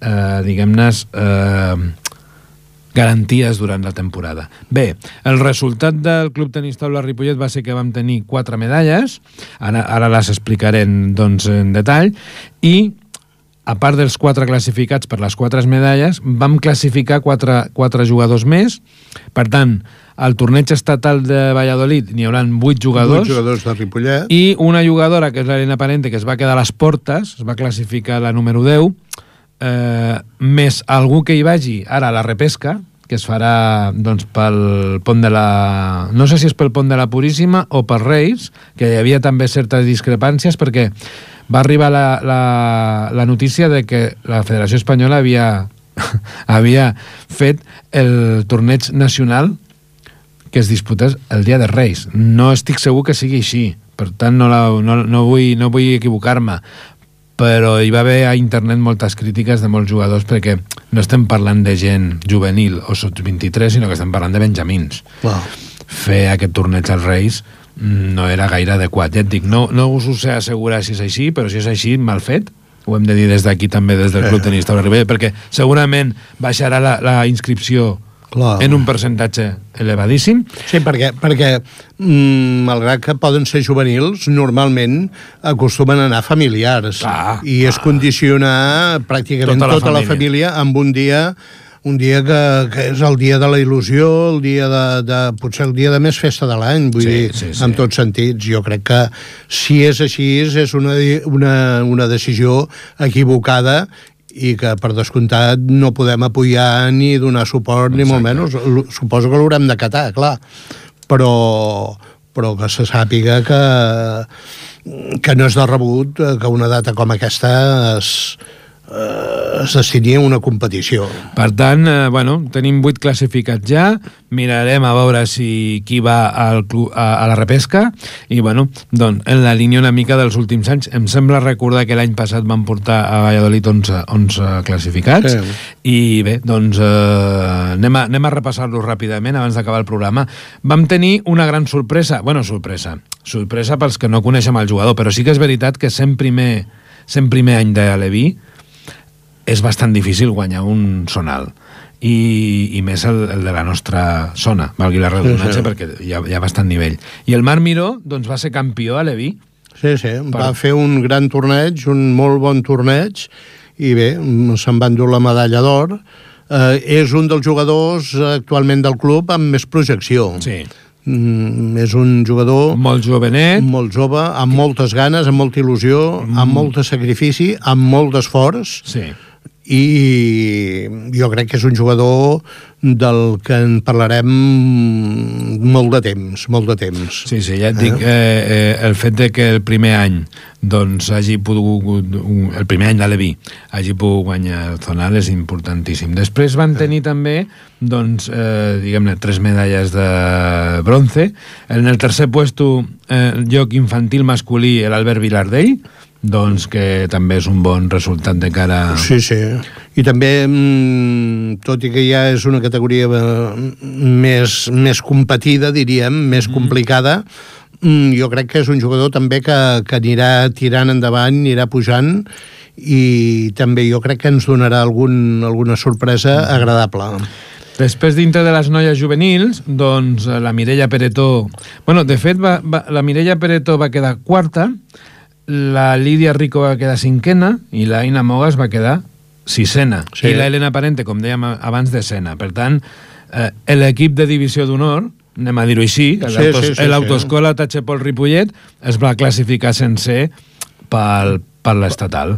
garanties durant la temporada. Bé, el resultat del Club Tenis Taula Ripollet va ser que vam tenir 4 medalles, ara les explicaré en detall, i a part dels 4 classificats per les 4 medalles, vam classificar 4 jugadors més. Per tant, al torneig estatal de Valladolid n'hi haurà 8 jugadors. 8 jugadors de Ripollet. I una jugadora, que és l'Helena Parente, que es va quedar a les portes, es va classificar la número 10, més algú que hi vagi ara a la repesca, que es farà pel pont de la... No sé si és pel pont de la Puríssima o per Reis, que hi havia també certes discrepàncies, perquè va arribar la notícia de que la Federació Espanyola havia fet el torneig nacional que es disputés el dia de Reis. No estic segur que sigui així, per tant no vull equivocar-me, però hi va haver a internet moltes crítiques de molts jugadors, perquè no estem parlant de gent juvenil o sub-23, sinó que estem parlant de benjamins. Fer aquest torneig als Reis no era gaire adequat. Ja et dic, no us ho sé assegurar si és així, però si és així, mal fet. Ho hem de dir des d'aquí també, des del Club Tenis Taula Ripollet, perquè segurament baixarà la inscripció en un percentatge elevadíssim. Sí, perquè malgrat que poden ser juvenils, normalment acostumen a anar familiars, i es condiciona pràcticament tota la família amb un dia que és el dia de la il·lusió, el dia potser el dia de més festa de l'any, vull dir, en tots sentits. Jo crec que si és així és una decisió equivocada, i que, per descomptat, no podem apoyar ni donar suport, ni molt menys. Suposo que l'haurem d'acatar, clar. Però que se sàpiga que no és de rebut que una data com aquesta es destini a una competició. Per tant, tenim 8 classificats ja, mirarem a veure qui va a la repesca i, en la línia una mica dels últims anys. Em sembla recordar que l'any passat van portar a Valladolid 11 classificats i bé, anem a repassar-los ràpidament abans d'acabar el programa. Vam tenir una gran sorpresa, sorpresa pels que no coneixem el jugador, però sí que és veritat que sent primer any de Leví és bastant difícil guanyar un zonal i més el de la nostra zona, valgui la redundància, perquè hi ha bastant nivell. I el Marc Miró va ser campió a Leví. Sí, va fer un gran torneig, un molt bon torneig, i bé, se'n va endur la medalla d'or. És un dels jugadors actualment del club amb més projecció. Sí. És un jugador molt jovenet, molt jove, amb moltes ganes, amb molta il·lusió, amb molt de sacrifici, amb molt d'esforç. Sí. I jo crec que és un jugador del que en parlarem molt de temps. Sí, ja et dic, el fet de que el primer any hagi pogut, el primer any de Leví hagi pogut guanyar el zonal és importantíssim. Després van tenir també diguem-ne 3 medalles de bronze. En el tercer puesto, lloc infantil masculí, l'Albert Vilardell, que també és un bon resultat de cara... Sí. I també, tot i que ja és una categoria més competida, diríem, més complicada, jo crec que és un jugador també que anirà tirant endavant, anirà pujant, i també jo crec que ens donarà alguna sorpresa agradable. Després, dintre de les noies juvenils, la Mireia Peretó... de fet, la Mireia Peretó va quedar quarta, la Lídia Rico va quedar cinquena i la Aina Mogas va quedar sisena. Sí. I la Helena Parente, com dèiem abans, desena. Per tant, l'equip de divisió d'honor, anem a dir-ho així, l'autoescola Tachepol Ripollet es va classificar sencer per l'estatal.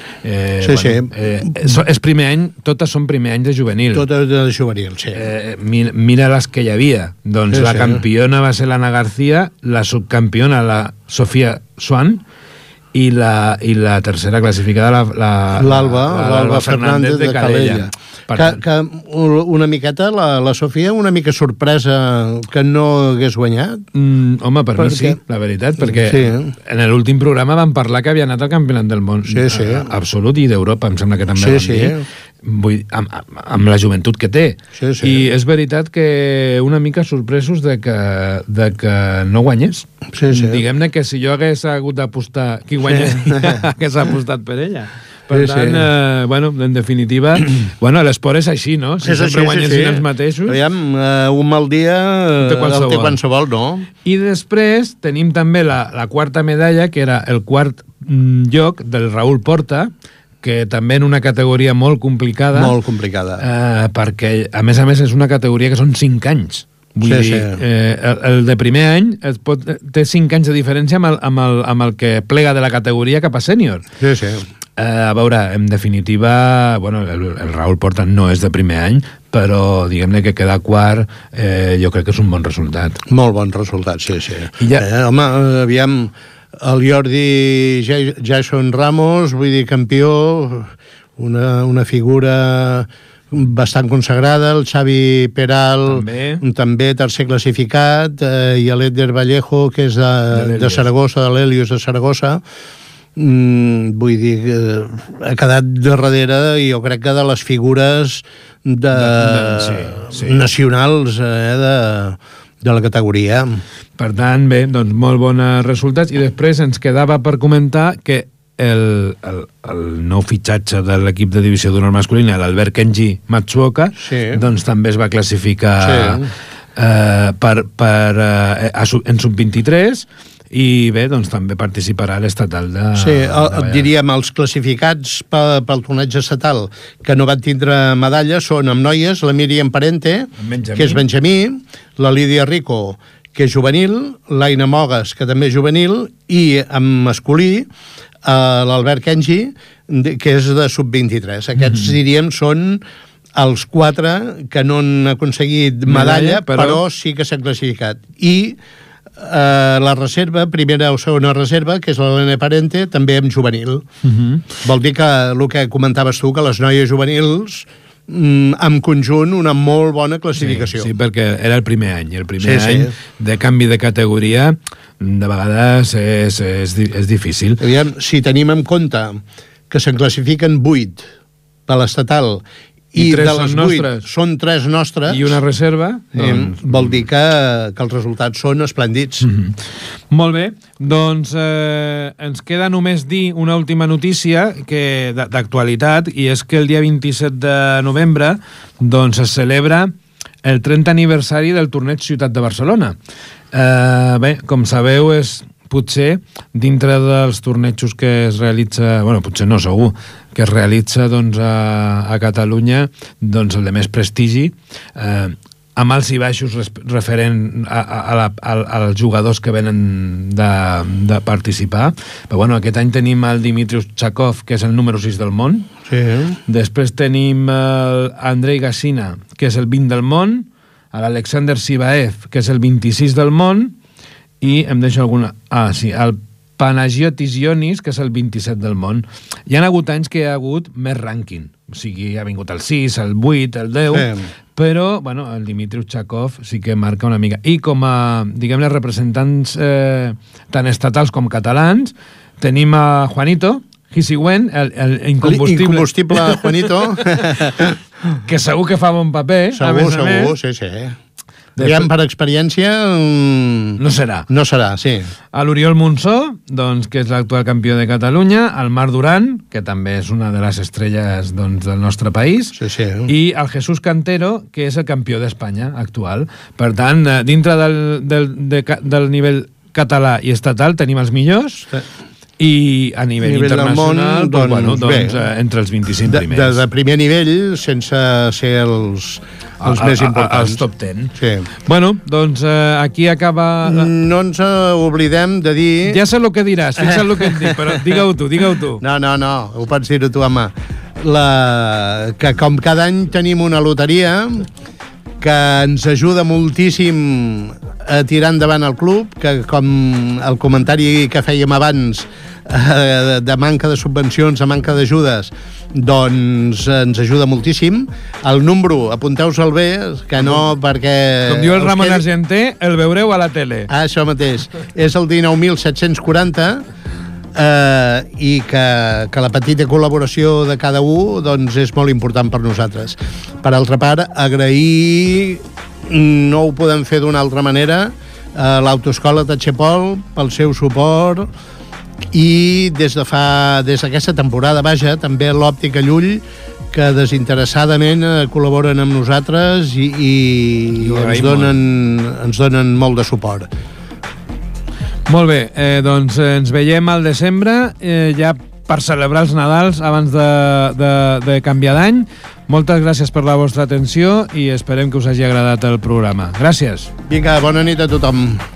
És primer any, totes són primer any de juvenil. Totes de juvenil, sí. Mira les que hi havia. La campiona va ser l'Anna García, la subcampiona la Sofia Swan i la tercera classificada l'Alba Fernández de Calella. Que una miqueta la Sofia una mica sorpresa que no hagués guanyat. Home, per mi sí, la veritat, perquè en l'últim programa vam parlar que havia anat al Campionat del Món absolut i d'Europa, em sembla que també vam dir. Amb la joventut que té. I és veritat que una mica sorpresos de que no guanyés. Diguem-ne que si jo hagués hagut d'apostar qui guanyaria, hagués apostat per ella. Per tant, en definitiva, l'esport és així, no? Si sempre guanyessin els mateixos... Aviam, un mal dia el té qualsevol, no? I després tenim també la quarta medalla, que era el quart lloc del Raül Porta, que també en una categoria molt complicada. Molt complicada. Perquè, a més, és una categoria que són 5 anys. Vull dir, el de primer any té 5 anys de diferència amb el que plega de la categoria cap a sènior. A veure, en definitiva, el Raül Porta no és de primer any, però diguem-ne que quedar quart jo crec que és un bon resultat. Molt bon resultat, sí. Home, aviam... El Jordi Jason Ramos, vull dir, campió, una figura bastant consagrada, el Xavi Peral també tercer classificat, i l'Eder Vallejo, que és de Saragossa, de l'Helios de Saragossa. Vull dir, ha quedat darrere, jo crec que de les figures nacionals de la categoria. Per tant, bé, molt bons resultats. I després ens quedava per comentar que el nou fitxatge de l'equip de divisió d'honor masculina, l'Albert Kenji Matsuoka, també es va classificar en sub-23 i bé, també participarà a l'estatal de... Diríem, els classificats pel torneig estatal que no van tindre medalla són amb noies, la Míriam Parente, que és Benjamí, la Lídia Rico, que és juvenil, l'Aina Mogues, que també és juvenil, i amb masculí, l'Albert Kenji, que és de sub-23. Aquests, diríem, són els 4 que no han aconseguit medalla, però sí que s'han classificat. I la reserva, primera o segona reserva, que és l'Helena Parente, també amb juvenil. Vol dir que el que comentaves tu, que les noies juvenils en conjunt una molt bona classificació. Sí, perquè era el primer any. El primer any de canvi de categoria de vegades és difícil. Aviam, si tenim en compte que se'n classifiquen 8 per l'estatal i de les 8 són 3 nostres i una reserva, doncs vol dir que els resultats són esplèndids. Molt bé, doncs ens queda només dir una última notícia d'actualitat, i és que el dia 27 de novembre doncs es celebra el 30 aniversari del torneig Ciutat de Barcelona. Bé, com sabeu, és potser dintre dels tornejos que es realitza, bueno, potser no, segur, que es realitza doncs, a Catalunya, doncs el de més prestigi, amb alts i baixos referent als jugadors que venen de participar. Però bueno, aquest any tenim el Dimitrios Chakov, que és el número 6 del món. Sí. Després tenim l'Andrei Gassina, que és el 20 del món, l'Alexander Sibaev, que és el 26 del món, i em deixo alguna... el Panagiotis Ionis, que és el 27 del món. Hi ha hagut anys que hi ha hagut més rànquing. O sigui, ha vingut el 6, el 8, el 10... Però, bueno, el Dimitrios Chakov sí que marca una mica. I com a, diguem-ne, representants tant estatals com catalans, tenim a Juanito Gisigüen, el incombustible Juanito, que segur que fa bon paper. Segur, sí. Diguem, per experiència... No serà. No serà, sí. A l'Oriol Monsó, doncs, que és l'actual campió de Catalunya, el Marc Duran, que també és una de les estrelles doncs, del nostre país, sí. I el Jesús Cantero, que és el campió d'Espanya actual. Per tant, dintre del nivell català i estatal tenim els millors, i a nivell internacional, món, doncs, entre els 25 primers. De primer nivell, sense ser els més importants. Els top 10. Sí. Bueno, doncs aquí acaba... No ens oblidem de dir... Ja sé el que diràs, fixa't el que et dic, però digue-ho tu. No, ho pots dir-ho tu, home. Que com cada any tenim una loteria que ens ajuda moltíssim a tirar endavant el club, que com el comentari que fèiem abans de manca de subvencions, de manca d'ajudes, doncs ens ajuda moltíssim. El número, apunteu-se'l bé, que no perquè... Com diu el Ramon Argenté, el veureu a la tele. Això mateix. És el 19.740, i que la petita col·laboració de cada un doncs és molt important per nosaltres. Per altra part, agrair, no ho podem fer d'una altra manera, a l'Autoescola Tachepol pel seu suport, i des d'aquesta temporada, vaja, també l'Òptica Llull, que desinteressadament col·laboren amb nosaltres i ens donen molt de suport. Molt bé, doncs ens veiem al desembre, ja per celebrar els Nadals abans de canviar d'any. Moltes gràcies per la vostra atenció i esperem que us hagi agradat el programa. Gràcies. Vinga, bona nit a tothom.